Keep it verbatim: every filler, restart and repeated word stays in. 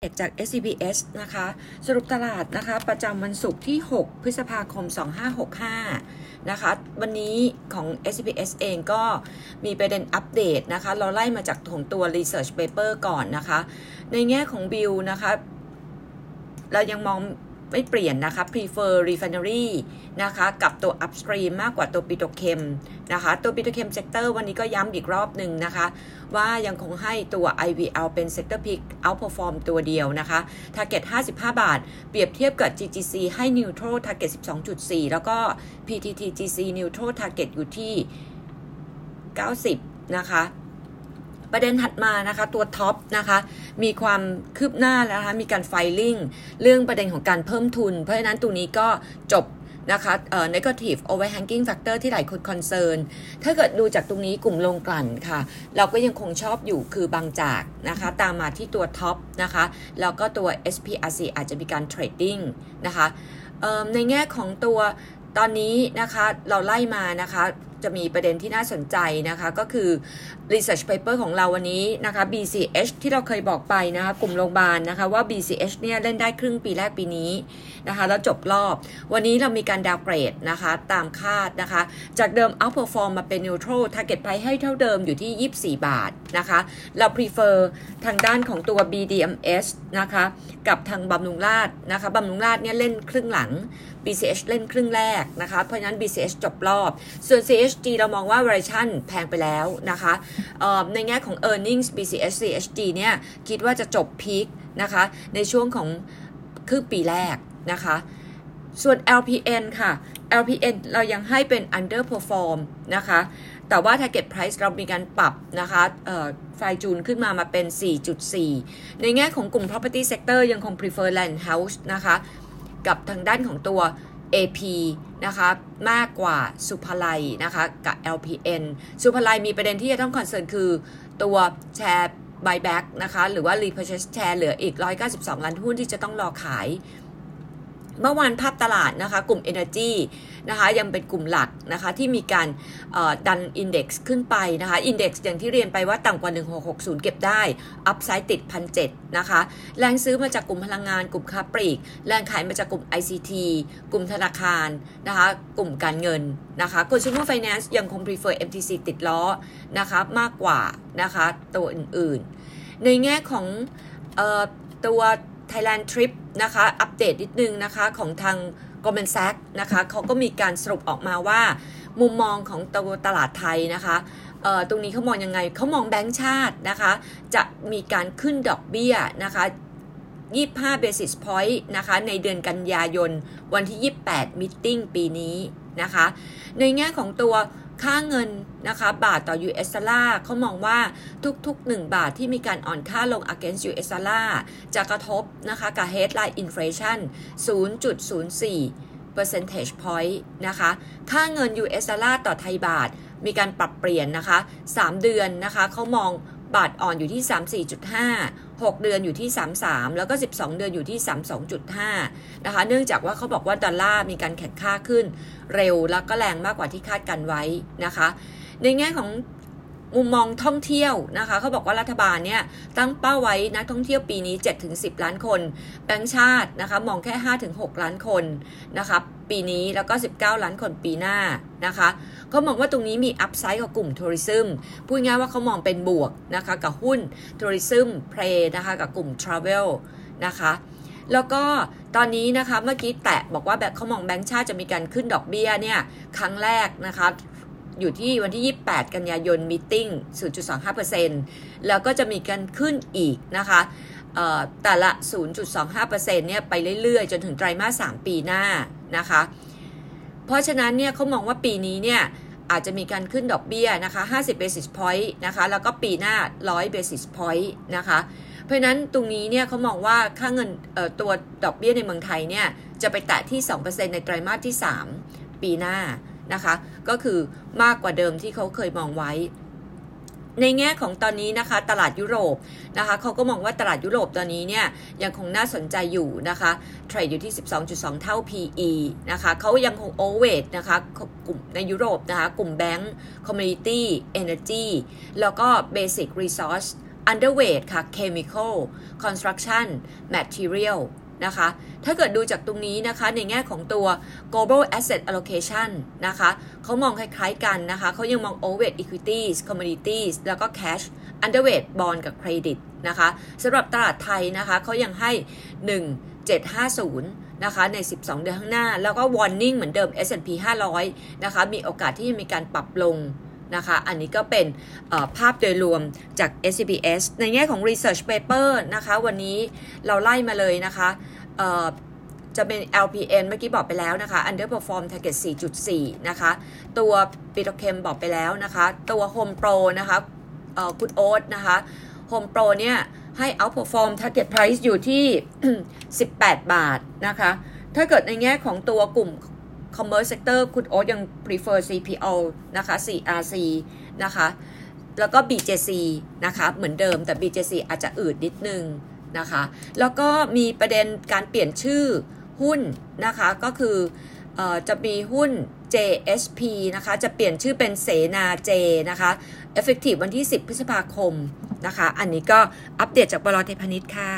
ดจาก เอส ซี บี เอส นะคะสรุปตลาดนะคะประจำวันศุกร์ที่หกพฤษภาคมสองพันห้าร้อยหกสิบห้านะคะวันนี้ของ เอส ซี บี เอส เองก็มีประเด็นอัปเดตนะคะเราไล่มาจากของตัว Research Paper ก่อนนะคะในแง่ของบิลนะคะเรายังมองไม่เปลี่ยนนะคะ prefer refinery นะคะกับตัว upstream มากกว่าตัวปิโตรเคมนะคะตัวปิโตรเคม sector วันนี้ก็ย้ำอีกรอบหนึ่งนะคะว่ายังคงให้ตัว ไอ วี แอล เป็น sector pick outperform ตัวเดียวนะคะ target ห้าสิบห้าบาทเปรียบเทียบกับ จี จี ซี ให้ neutral target สิบสองจุดสี่ แล้วก็ พี ที ที จี ซี neutral target อยู่ที่เก้าสิบนะคะประเด็นถัดมานะคะตัวท็อปนะคะมีความคืบหน้าแล้วนะคะมีการไฟลิ่งเรื่องประเด็นของการเพิ่มทุนเพราะฉะนั้นตรงนี้ก็จบนะคะเอ่อ negative overhanging factor ที่หลายคน concern ถ้าเกิดดูจากตรงนี้กลุ่มลงกลั่นค่ะเราก็ยังคงชอบอยู่คือบางจากนะคะตามมาที่ตัวท็อปนะคะแล้วก็ตัว เอส พี อาร์ ซี อาจจะมีการเทรดดิ้งนะคะเอ่อในแง่ของตัวตอนนี้นะคะเราไล่มานะคะจะมีประเด็นที่น่าสนใจนะคะก็คือ Research Paper ของเราวันนี้นะคะ บี ซี เอช ที่เราเคยบอกไปนะคะกลุ่มโรงพยาบาลนะคะว่า บี ซี เอช เนี่ยเล่นได้ครึ่งปีแรกปีนี้นะคะแล้วจบรอบวันนี้เรามีการดาวเกรดนะคะตามคาดนะคะจากเดิม outperform มาเป็น neutral target price ให้เท่าเดิมอยู่ที่ยี่สิบสี่บาทนะคะเรา prefer ทางด้านของตัว บี ดี เอ็ม เอส นะคะกับทางบำรุงราษฎร์นะคะบำรุงราษฎร์เนี่ยเล่นครึ่งหลัง บี ซี เอช เล่นครึ่งแรกนะคะเพราะฉะนั้น บี ซี เอช จบรอบส่วน ซี เอช จี เรามองว่า valuation แพงไปแล้วนะคะในแง่ของ earnings บี ซี เอช ซี เอช จี เนี่ยคิดว่าจะจบ peak นะคะในช่วงของครึ่งปีแรกนะคะส่วน แอล พี เอ็น ค่ะ แอล พี เอ็น เรายังให้เป็น underperform นะคะแต่ว่า target price เรามีการปรับนะคะไฟจูนขึ้นมามาเป็น สี่จุดสี่ ในแง่ของกลุ่ม property sector ยังคง prefer land house นะคะกับทางด้านของตัว เอ พี นะคะมากกว่าสุภาลัยนะคะกับ แอล พี เอ็น สุภาลัยมีประเด็นที่จะต้องคอนเซิร์นคือตัวแชร์ buyback นะคะหรือว่า repurchase share เหลืออีกหนึ่งร้อยเก้าสิบสองล้านหุ้นที่จะต้องรอขายเมื่อวานภาพตลาดนะคะกลุ่ม Energy นะคะยังเป็นกลุ่มหลักนะคะที่มีการดัน Index ขึ้นไปนะคะ Index อย่างที่เรียนไปว่าต่ำกว่าหนึ่งพันหกร้อยหกสิบเก็บได้ Upside ติด หนึ่งพันเจ็ดร้อย นะคะแรงซื้อมาจากกลุ่มพลังงานกลุ่มค้าปลีกแรงขายมาจากกลุ่ม ไอ ซี ที กลุ่มธนาคารนะคะกลุ่มการเงินนะคะ Consumer Finance ยังคง prefer เอ็ม ที ซี ติดล้อนะคะมากกว่านะคะตัวอื่นๆในแง่ของเอ่อตัว Thailand Trip นะคะอัปเดตนิดนึงนะคะของทาง Goldman Sachs นะคะเขาก็มีการสรุปออกมาว่ามุมมองของตัวตลาดไทยนะคะเอ่อตรงนี้เขามองยังไงเขามองแบงก์ชาตินะคะจะมีการขึ้นดอกเบี้ยนะคะยี่สิบห้า basis point นะคะในเดือนกันยายนวันที่ยี่สิบแปด meeting ปีนี้นะคะในแง่ของตัวค่าเงินนะคะบาทต่อ ยู เอส ดอลลาร์เขามองว่าทุกๆหนึ่งบาทที่มีการอ่อนค่าลง against ยู เอส ดอลลาร์จะกระทบนะคะกับ headline inflation ศูนย์จุดศูนย์สี่ percentage point นะคะค่าเงิน ยู เอส ดอลลาร์ต่อไทยบาทมีการปรับเปลี่ยนนะคะสามเดือนนะคะเขามองบาทอ่อนอยู่ที่ สามสิบสี่จุดห้า หกเดือนอยู่ที่ สามสิบสาม แล้วก็สิบสองเดือนอยู่ที่ สามสิบสองจุดห้า นะคะเนื่องจากว่าเขาบอกว่าดอลลาร์มีการแข็งค่าขึ้นเร็วแล้วก็แรงมากกว่าที่คาดกันไว้นะคะในแง่ของมุมมองท่องเที่ยวนะคะเขาบอกว่ารัฐบาลเนี่ยตั้งเป้าไว้นักท่องเที่ยวปีนี้ เจ็ดถึงสิบ ล้านคนแบงก์ชาตินะคะมองแค่ ห้าถึงหก ล้านคนนะคะปีนี้แล้วก็สิบเก้าล้านคนปีหน้านะคะเขามองว่าตรงนี้มีอัพไซด์กับกลุ่มทัวริซึมพูดง่ายว่าเขามองเป็นบวกนะคะกับหุ้นทัวริซึมเพลย์นะคะกับกลุ่มทราเวลนะคะแล้วก็ตอนนี้นะคะเมื่อกี้แตะบอกว่าแบบเขามองแบงก์ชาติจะมีการขึ้นดอกเบี้ยเนี่ยครั้งแรกนะคะอยู่ที่วันที่ยี่สิบแปดกันยายนมีตติ้ง ศูนย์จุดสองห้าเปอร์เซ็นต์ แล้วก็จะมีการขึ้นอีกนะคะแต่ละ ศูนย์จุดสองห้าเปอร์เซ็นต์ เนี่ยไปเรื่อยๆจนถึงไตรมาสสามปีหน้านะคะเพราะฉะนั้นเนี่ยเขามองว่าปีนี้เนี่ยอาจจะมีการขึ้นดอกเบี้ยนะคะห้าสิบ basis point นะคะแล้วก็ปีหน้าหนึ่งร้อย basis point นะคะเพราะฉะนั้นตรงนี้เนี่ยเขามองว่าค่าเงินเอ่อตัวดอกเบี้ยในเมืองไทยเนี่ยจะไปแตะที่ สองเปอร์เซ็นต์ ในไตรมาสที่สามปีหน้านะคะก็คือมากกว่าเดิมที่เขาเคยมองไว้ในแง่ของตอนนี้นะคะตลาดยุโรปนะคะเขาก็มองว่าตลาดยุโรปตอนนี้เนี่ยยังคงน่าสนใจอยู่นะคะเทรดอยู่ที่ สิบสองจุดสอง เท่า พี อี นะคะเขายังคงโอเวอร์เวทนะคะกลุ่มในยุโรปนะคะกลุ่มแบงก์คอมมูนิตี้เอเนอร์จีแล้วก็เบสิกรีซอร์ส underweight ค่ะ chemical construction material นะคะถ้าเกิดดูจากตรงนี้นะคะในแง่ของตัว global asset allocation นะคะเขามองคล้ายๆกันนะคะเขายังมอง overweight equities commodities แล้วก็ cash underweight bond กับ credit นะคะสำหรับตลาดไทยนะคะเขายังให้หนึ่งเจ็ดห้าศูนย์นะคะในสิบสองเดือนข้างหน้าแล้วก็ warning เหมือนเดิม เอส แอนด์ พี ห้าร้อยนะคะมีโอกาสที่จะมีการปรับลงนะคะอันนี้ก็เป็นภาพโดยรวมจาก เอส ซี บี เอส ในแง่ของ research paper นะคะวันนี้เราไล่มาเลยนะคะจะเป็น แอล พี เอ็น เมื่อกี้บอกไปแล้วนะคะ underperform target สี่จุดสี่ นะคะตัว Petrochem บอกไปแล้วนะคะตัว Home Pro นะคะคุณโอ๊ตนะคะ Home Pro เนี่ยให้ outperform target price อยู่ที่ สิบแปดบาทนะคะถ้าเกิดในแง่ของตัวกลุ่ม commerce sector คุณโอ๊ตยัง prefer ซี พี โอ นะคะ โฟร์ อาร์ ซี นะคะแล้วก็ บี เจ ซี นะคะเหมือนเดิมแต่ บี เจ ซี อาจจะอืดนิดนึงนะคะแล้วก็มีประเด็นการเปลี่ยนชื่อหุ้นนะคะก็คือเอ่อจะมีหุ้น เจ เอส พี นะคะจะเปลี่ยนชื่อเป็นเสนาเจนะคะ effective วันที่สิบพฤษภาคมนะคะอันนี้ก็อัปเดตจากบล.เทพนิชค่ะ